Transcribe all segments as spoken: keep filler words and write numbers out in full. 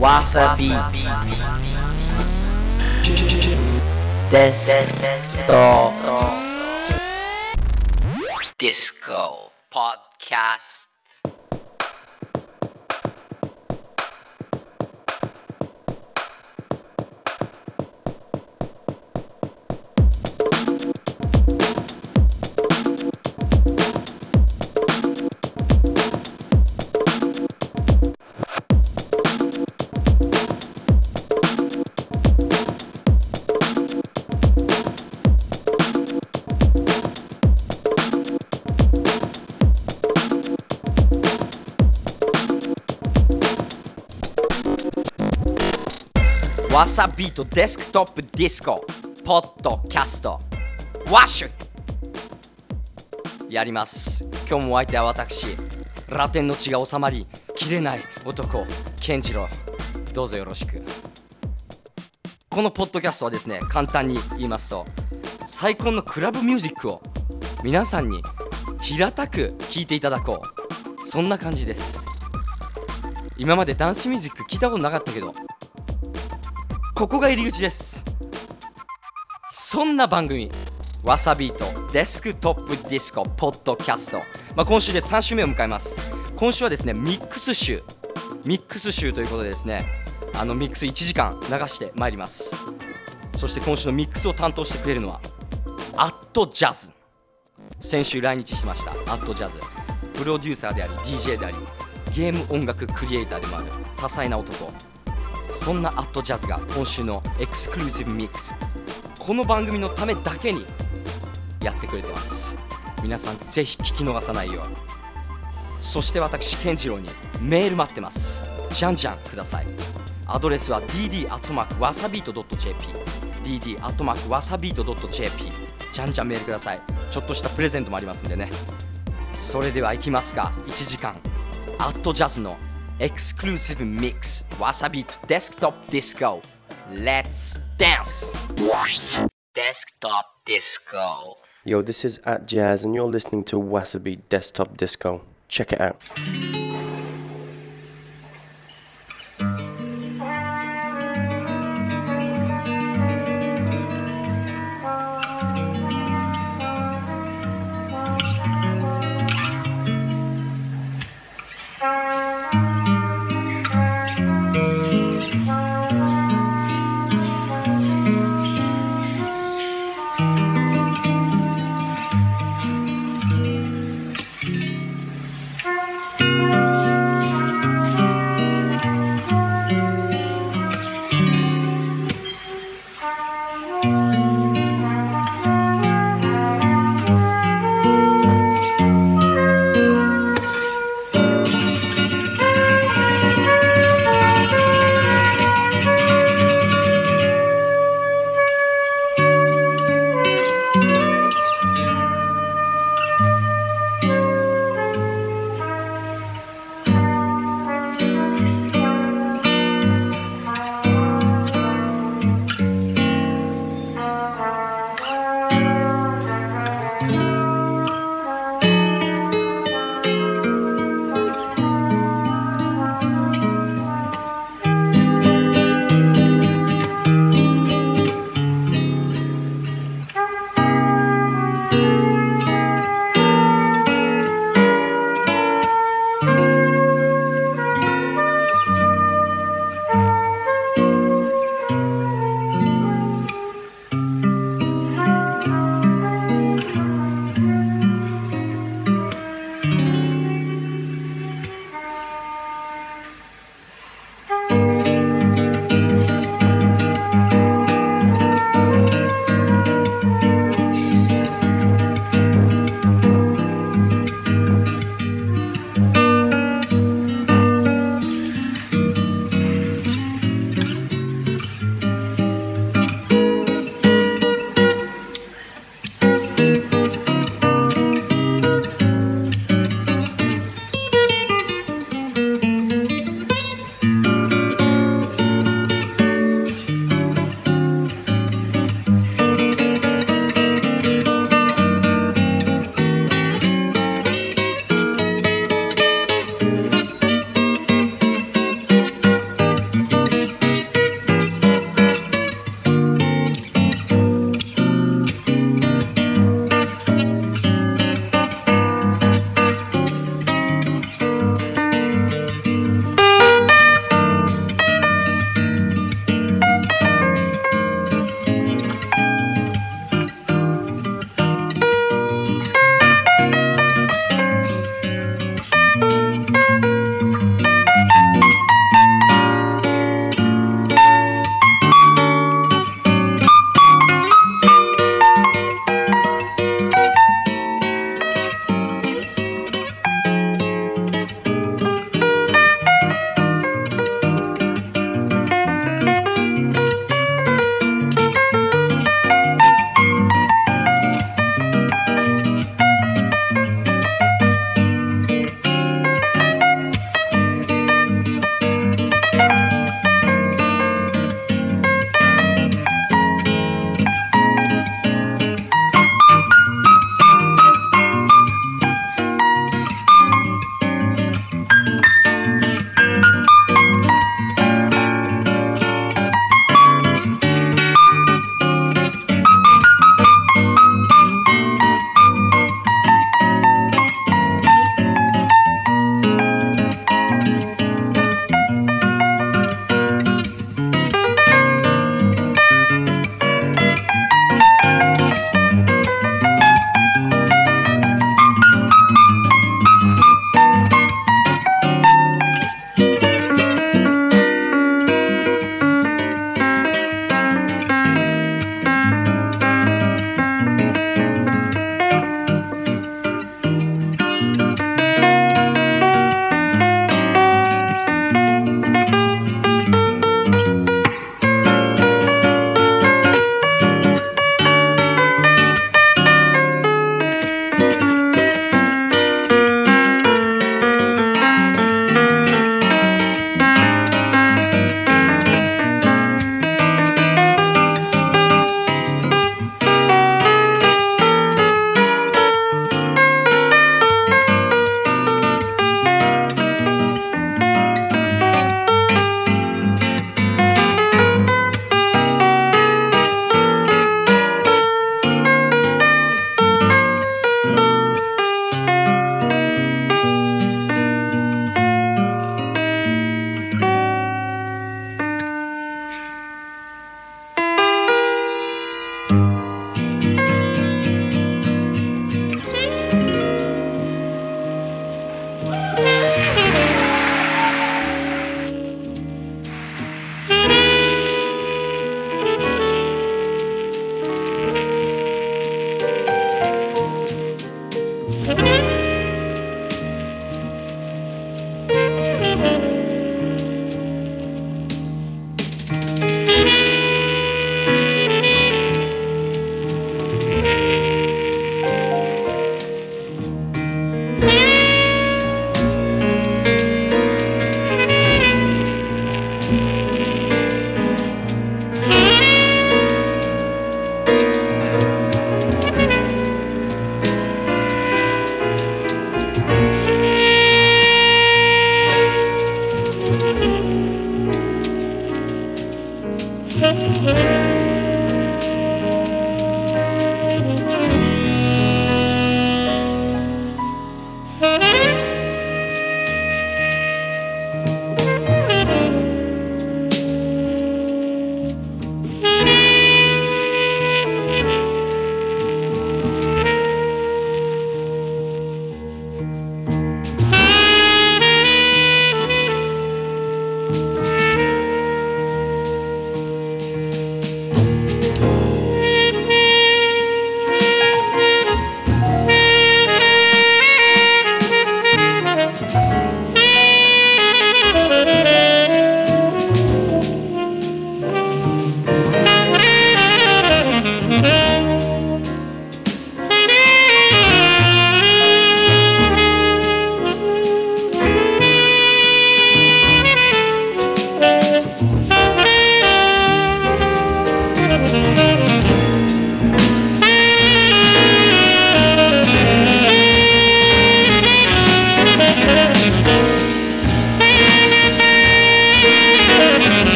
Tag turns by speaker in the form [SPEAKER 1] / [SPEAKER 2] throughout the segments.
[SPEAKER 1] わさびデストディスコポッドキャストわさビートデスクトップディスコポッドキャストワッシュやります。今日もお相手は私、ラテンの血が収まりきれない男健次郎、どうぞよろしく。このポッドキャストはですね、簡単に言いますと、最高のクラブミュージックを皆さんに平たく聴いていただこう、そんな感じです。今までダンスミュージック聞いたことなかったけど、ここが入り口です。そんな番組わさビートデスクトップディスコポッドキャスト、まあ、今週でさん週目を迎えます。今週はですね、ミックス集ミックス集ということでですね、あのミックスいちじかん流してまいります。そして今週のミックスを担当してくれるのはアットジャズ。先週来日しましたアットジャズ、プロデューサーであり ディージェー でありゲーム音楽クリエイターでもある多彩な男。そんなアットジャズが今週のエクスクルーシブミックス、この番組のためだけにやってくれてます。皆さんぜひ聞き逃さないよう。そして私健次郎にメール待ってます。じゃんじゃんください。アドレスは ディーディー アットマークわさビート ドット ジェーピー ディーディー アットマークわさビート ドット ジェーピー じゃんじゃんメールください。ちょっとしたプレゼントもありますんでね。それでは行きますか。いちじかんアットジャズのExclusive Mix Wasabi to Desktop Disco. Let's dance! Desktop Disco.
[SPEAKER 2] Yo, this is at Jazz and you're listening to Wasabi Desktop Disco. Check it out.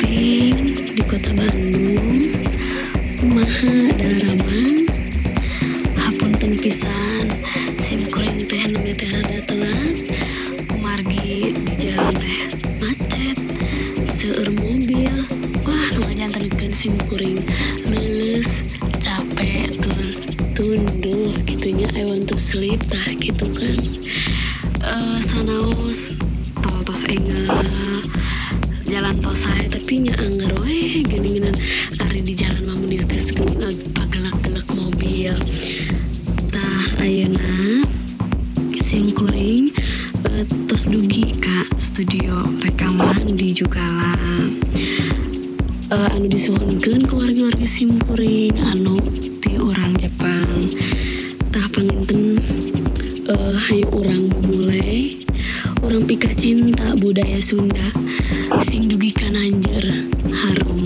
[SPEAKER 3] simkuring di kota Bandung kumaha dalaramang hapunten pisan simkuring teh namanya teh rada telat kumargi di jalan teh macet seueur mobil wah nu ngajantenkeun simkuring leuleus capek tur tunduh gitunya I want to sleep tah gitu kan. Uh, sanaos tol tos enggal jalan tos saya tapi nya anggar we geuningan ari di jalan mah mun geus pagelak-gelak mobil tah ayeuna simkuring uh, tos dugi ka studio rekaman di Jukala uh, anu disuhunkeun ku wargi-wargi simkuring anu ti urang Jepang tah panginten Uh, hayu orang mulai orang pika cinta budaya Sunda sing dugi ka Nanjer harum.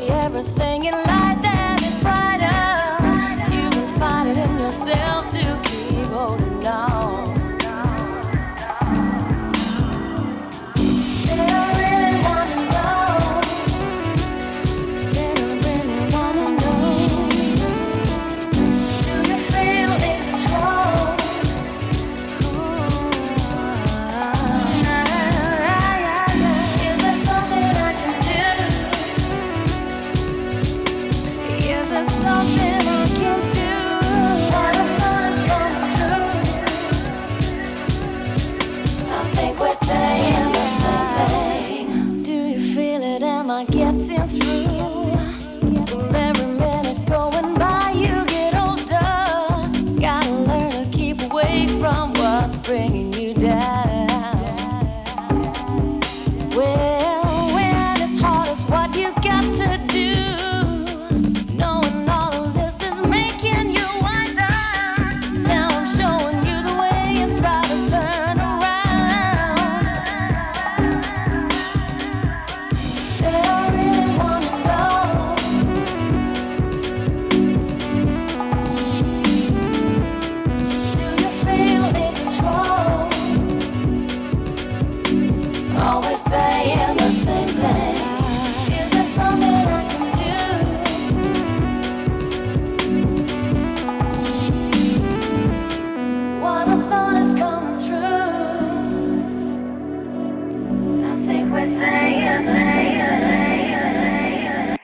[SPEAKER 4] see everything in light that is brighter. You will find it in yourself to keep holding on. Say I really wanna know. Say I really wanna know. Do you feel in control? Is there something I can do? Is there something I can do? What I thought is coming through. I think we're saying the same thing. Do you feel it? Am I getting through? With every minute going by, you get older. Gotta learn to keep away from what's bringing you down. Well, when it's hard, it's what you got to do. Knowing all of this is making you wiser. Now I'm showing you the way it's gotta turn around. Say I really wanna know. Do you feel in control? Always saying the same thing. Is there something I can do? What I thought is coming through. I think we're saying the same thing.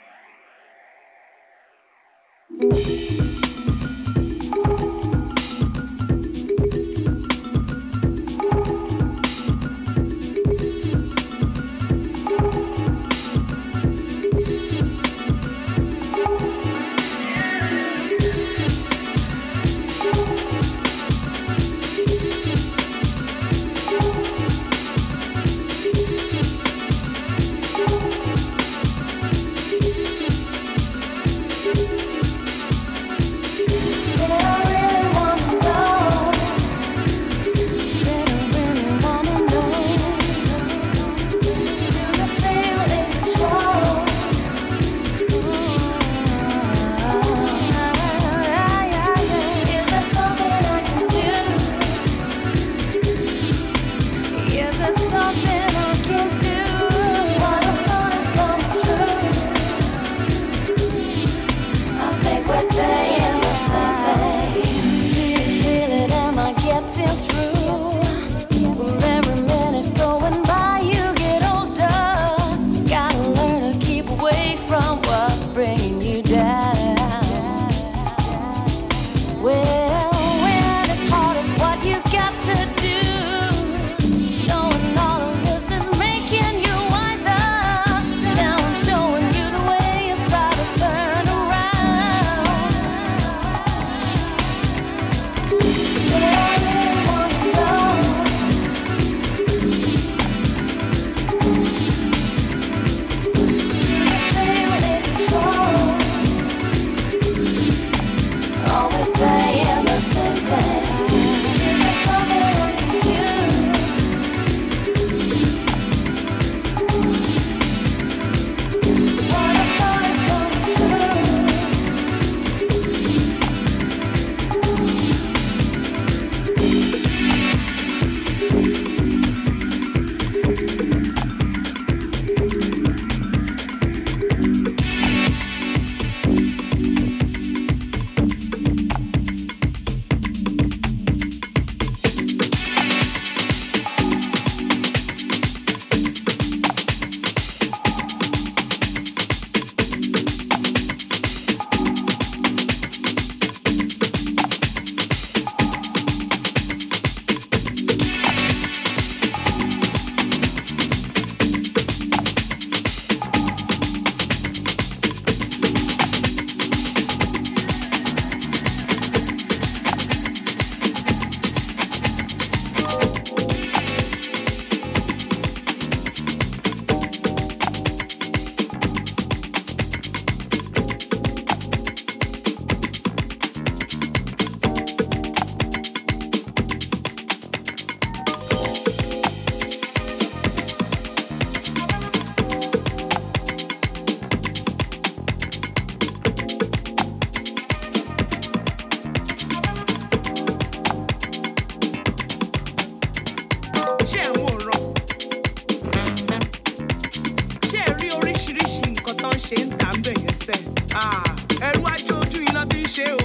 [SPEAKER 5] ṣe ń tà ń bẹ̀ yẹn sẹ́. Ẹrú ajé ojú iná tí ń ṣe o.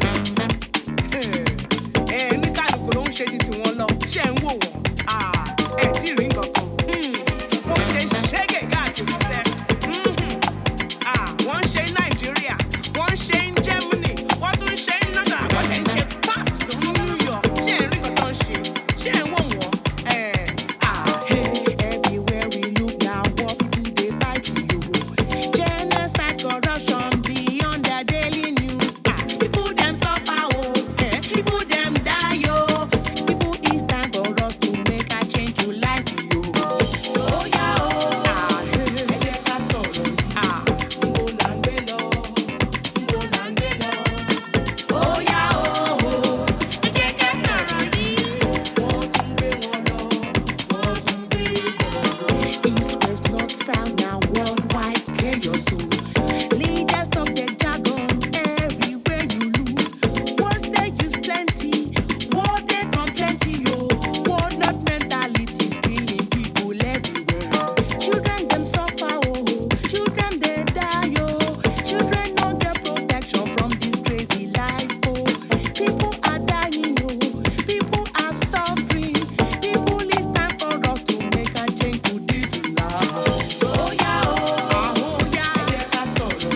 [SPEAKER 5] Ẹ ní kálukú ló ń ṣe ti tiwọn lọ. Ṣé ń wò wọ́n? Ẹ tí ì rí nǹkan kan. Wọ́n ṣe ṣẹ́gẹ̀ káàkiri sẹ́. Wọ́n ṣe ní Nàìjíríà, wọ́n ṣe ní Germany, wọ́n tún ṣe ní London, wọ́n ṣe ń ṣe pass ní New York. Ṣé ń rí nǹkan tó ń ṣe? Ṣé ń wò wọ́n? Everywhere we look now, what people they fight for you. Genocide, corruption beyond their daily news. People them suffer, oh, people them die, oh. People, it's time for us to make a change to life, yo. Oh yeah, oh. Ẹ jẹ́ ká sọ̀rọ̀. Mo là ń gbé lọ, mo là ń gbé lọ. Oh yeah, oh. Ẹ jẹ́ ká sọ̀rọ̀ yìí. Wọ́n tún gbé wọn lọ, wọ́n tún gbé wọn lọ. East, west, north, south, now worldwide chaos, oh. Leaders talk their jargon everywhere you look. Words they use plenty, word they come plenty, yo. Word not mentalities killing people everywhere. Children them suffer, oh. Children they die, oh. Children no get protection from this crazy life, oh. People are dying, oh. People are suffering. People, it's time for us to make a change to this life. Oh yeah, oh. Oh yeah, ẹ jẹ́ ká sọ̀rọ̀.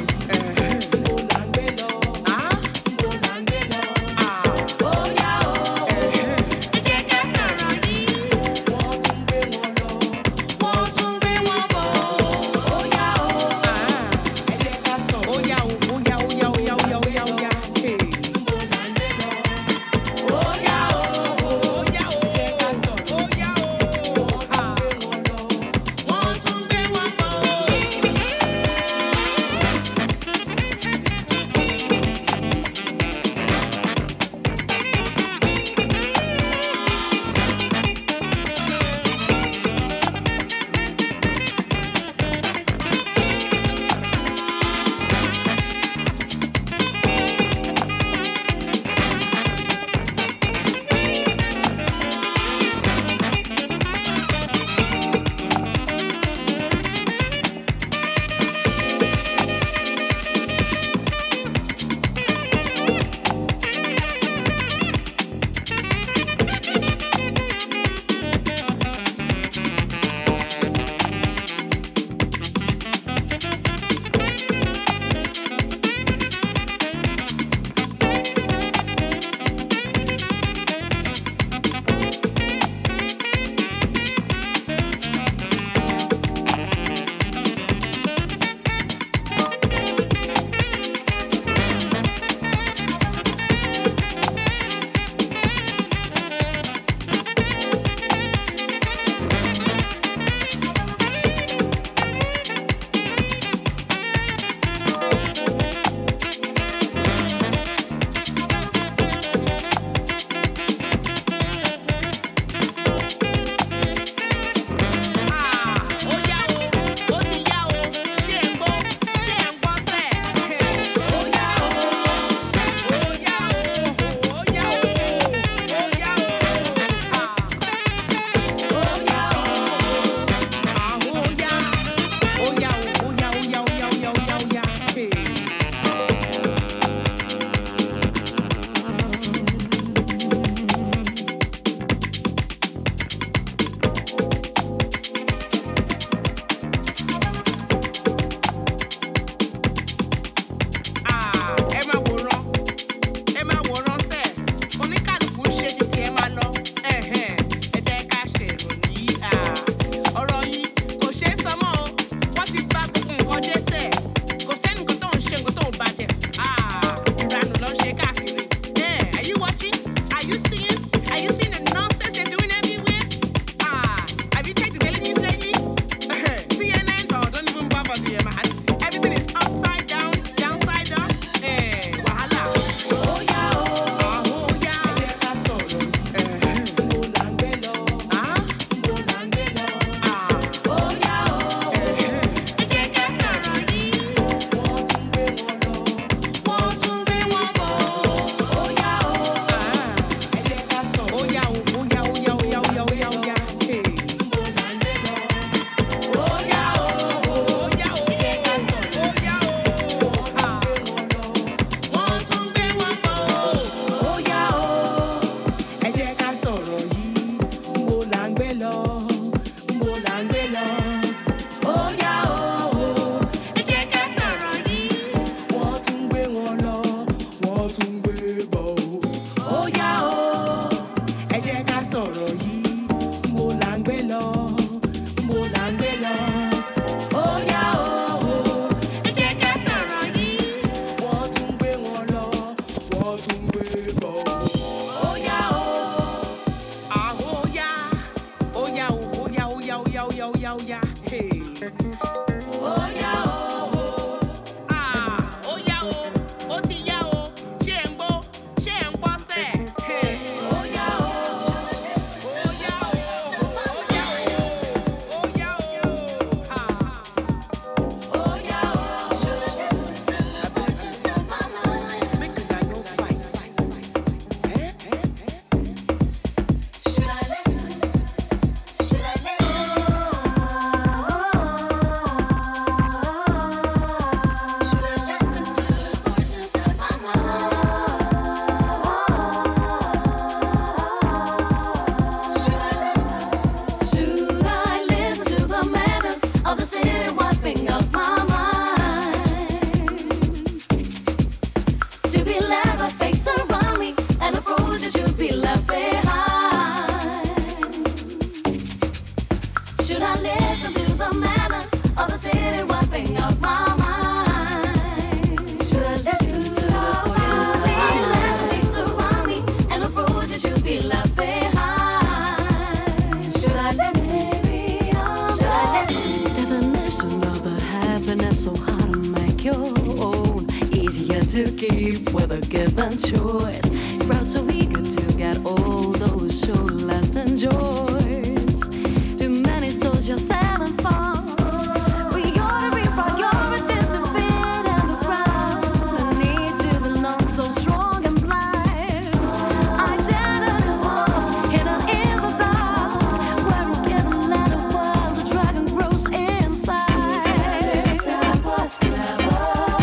[SPEAKER 4] to keep with a given choice. Proud so eager to get all those short-lasting joys. Too many souls just having fun. We ought to be priorities to fit in the crowd. The need to belong so strong and blind. Identity's lost, hidden in the dark. Where we get a lot of words, the dragon grows inside. Decide what's clever.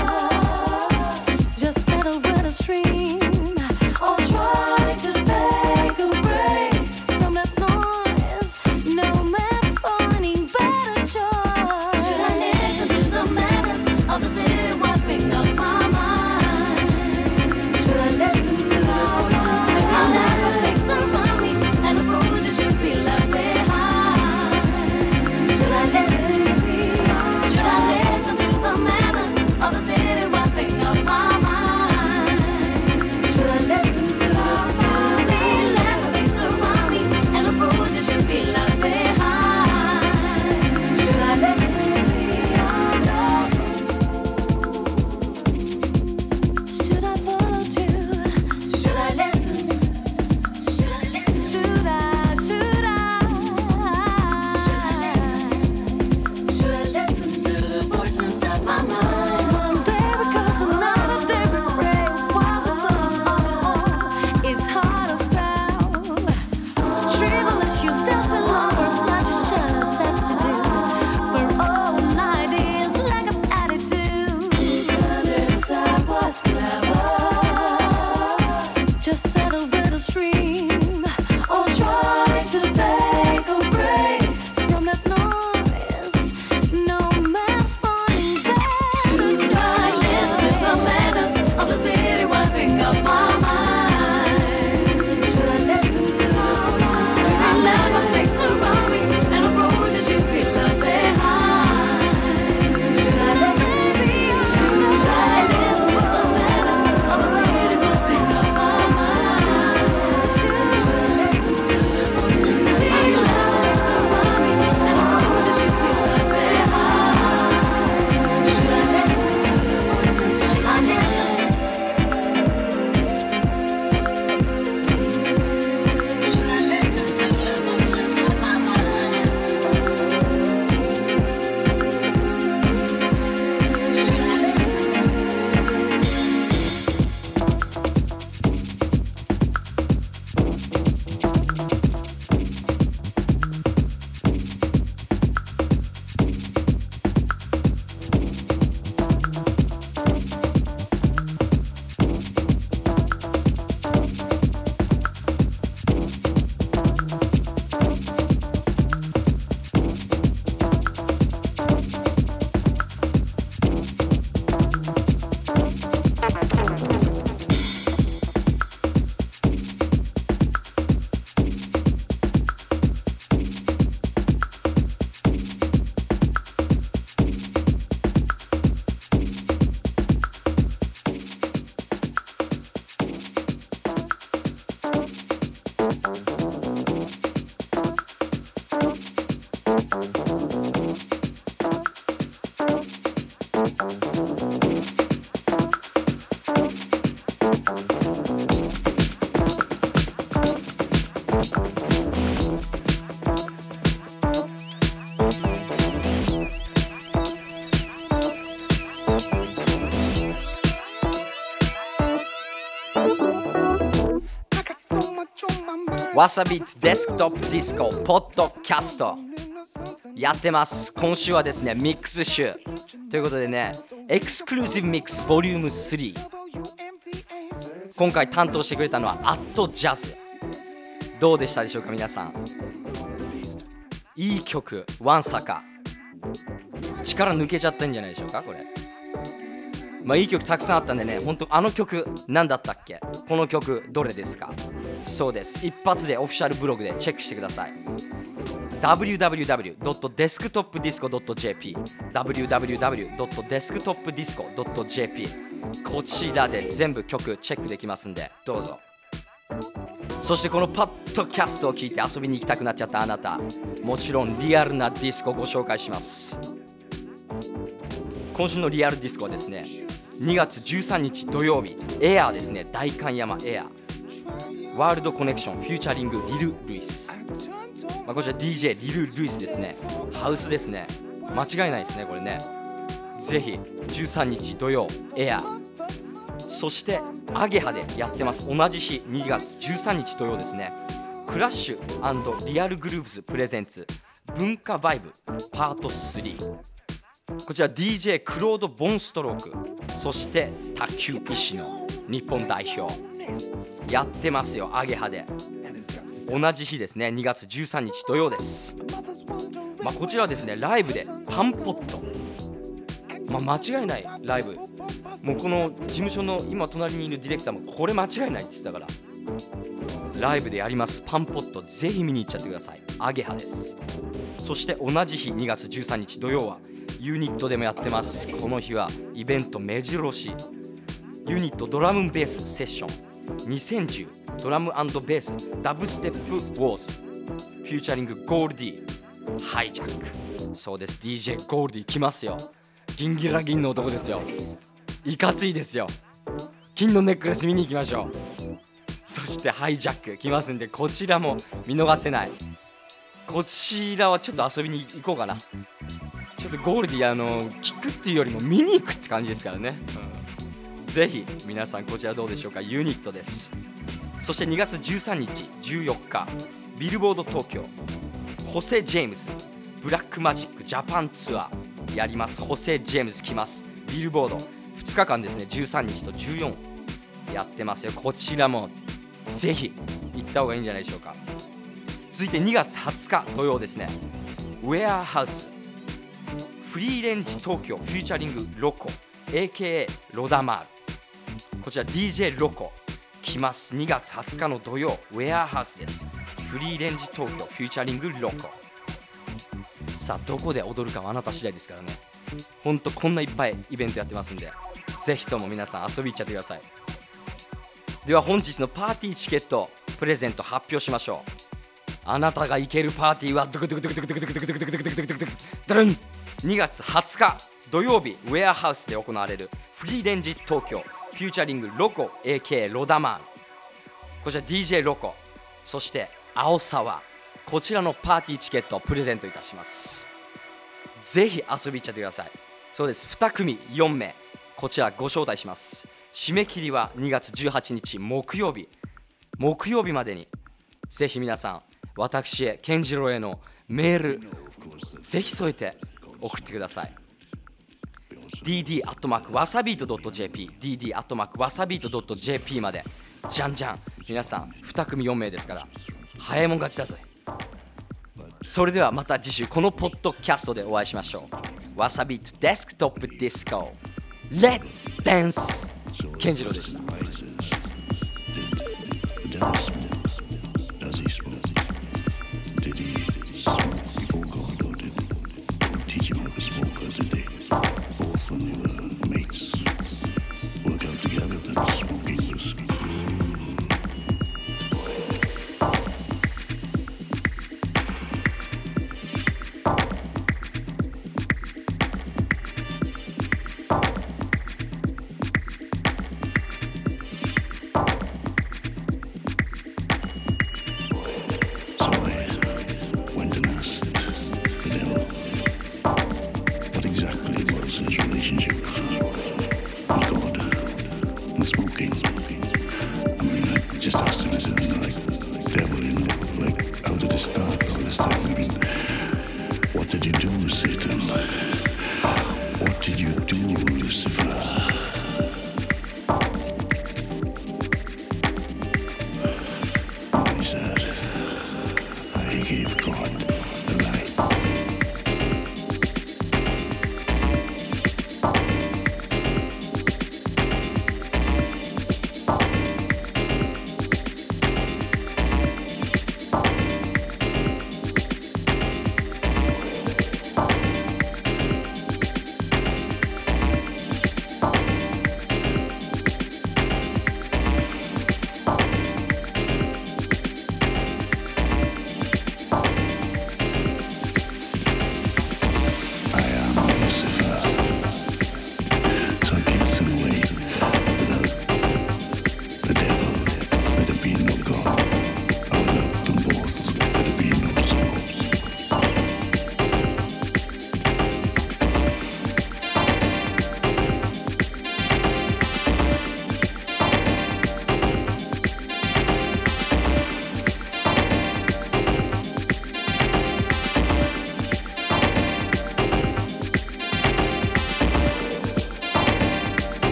[SPEAKER 4] Just settle with a stream. Or try to take a break from that noise. No man's finding better choice. Should I listen to the madness of the city wiping up my mind? Should I listen to the voices to my life that things around me and the road that should be left behind? Should I listen to me? Should I listen to the madness of the city wiping up my mind? Should I listen to the life that things around me and the road that should be left behind? Should I listen to me? Should I follow too? Should I listen? Should I? Should I? Should I listen to the voice inside my mind? One day because another day we pray. What's the purpose of it all? It's hard to tell. Trivial issues that belong for such a shadow set to do. For all ideas like an attitude. Decide what's clever. Just settle with a stream. Or try to take a break from that noise. No man's finding there. Should I listen to the madness of the city wiping up my mind? Should I listen to the voices to be left with things around me and the road that should be left behind? Should I listen to me? Should I listen to the madness of the city wiping up my mind? Should I listen to the voices to be left with things around me and the road that should be left behind? Should I listen to the voices? Should I listen? Should I listen to the voices of my mind?
[SPEAKER 1] わさびデスクトップディスコポッドキャストやってます。今週はですねミックス週ということでね、エクスクルーシブミックスボリュームスリー、今回担当してくれたのはアットジャズ。どうでしたでしょうか皆さん。いい曲ワンサカ、力抜けちゃったんじゃないでしょうかこれ。まあいい曲たくさんあったんでね、本当あの曲何だったっけ、この曲どれですか。そうです、一発でオフィシャルブログでチェックしてください。ダブリューダブリューダブリュードットデスクトップディスコドットジェーピー ダブリューダブリューダブリュードットデスクトップディスコドットジェーピー こちらで全部曲チェックできますんでどうぞ。そしてこのパッドキャストを聞いて遊びに行きたくなっちゃったあなた、もちろんリアルなディスコをご紹介します。今週のリアルディスコはですね、 にがつじゅうさんにち土曜日、エアーですね、代官山エアー、ワールドコネクションフューチャリングリル・ルイス、まあ、こちら ディージェー リル・ルイスですね。ハウスですね、間違いないですねこれね。ぜひじゅうさんにち土曜エアー、そしてアゲハでやってます。同じ日にがつじゅうさんにち土曜ですね、クラッシュ&リアルグルーブズプレゼンツ文化バイブパートスリー、こちら ディージェー クロード・ボンストローク、そして卓球石の日本代表やってますよ、アゲハで。同じ日ですね、にがつじゅうさんにち土曜です。まあ、こちらはですね、ライブでパンポット、まあ、間違いないライブ、もうこの事務所の今隣にいるディレクターもこれ間違いないって言ってたから、ライブでやりますパンポット、ぜひ見に行っちゃってください。アゲハです。そして同じ日にがつじゅうさんにち土曜はユニットでもやってます。この日はイベント目白押し、ユニットドラムベースセッションにせんじゅうドラム&ベースダブステップウォーズフューチャリングゴールディハイジャック、そうです ディージェー ゴールディ来ますよ。ギンギラギンの男ですよ、いかついですよ。金のネックレス見に行きましょう。そしてハイジャック来ますんで、こちらも見逃せない。こちらはちょっと遊びに行こうかな。ちょっとゴールディあの聞くっていうよりも見に行くって感じですからね、うん、ぜひ皆さんこちらどうでしょうか。ユニットです。そしてにがつじゅうさんにちじゅうよっかビルボード東京ホセ・ジェームズブラックマジックジャパンツアーやります。ホセ・ジェームズ来ます。ビルボードふつかかんですね、じゅうさんにちとじゅうよっかやってますよ。こちらもぜひ行った方がいいんじゃないでしょうか。続いてにがつはつか土曜ですね、ウェアハウスフリーレンジ東京フューチャリングロコ エーケーエー ロダマール、こちら ディージェー ロコ来ます。にがつはつかの土曜ウェアハウスです。フリーレンジ東京フューチャリングロコ、さあどこで踊るかはあなた次第ですからね。ほんとこんないっぱいイベントやってますんで、ぜひとも皆さん遊び行っちゃってください。では本日のパーティーチケットプレゼント発表しましょう。あなたが行けるパーティーはドクドクドクドクドクドクドクドクドクドクドクドクドクドクドルンにがつはつか土曜日ウェアハウスで行われるフリーレンジ東京フューチャリングロコ エーケーエー ロダマーン、こちら ディージェー ロコ、そして青沢、こちらのパーティーチケットをプレゼントいたします。ぜひ遊び行っちゃってください。そうです、にくみよんめいこちらご招待します。締め切りはにがつじゅうはちにち木曜日木曜日までに、ぜひ皆さん私へ健次郎へのメールぜひ添えて送ってください。 ディーディー アットマーク ワサビート ドット ジェーピー ディーディー アットマーク ワサビート ドット ジェーピー までじゃんじゃん皆さんにくみよんめいですから早いもん勝ちだぞ。それではまた次週このポッドキャストでお会いしましょう。わさびとデスクトップディスコ Let's Dance 健次郎でした。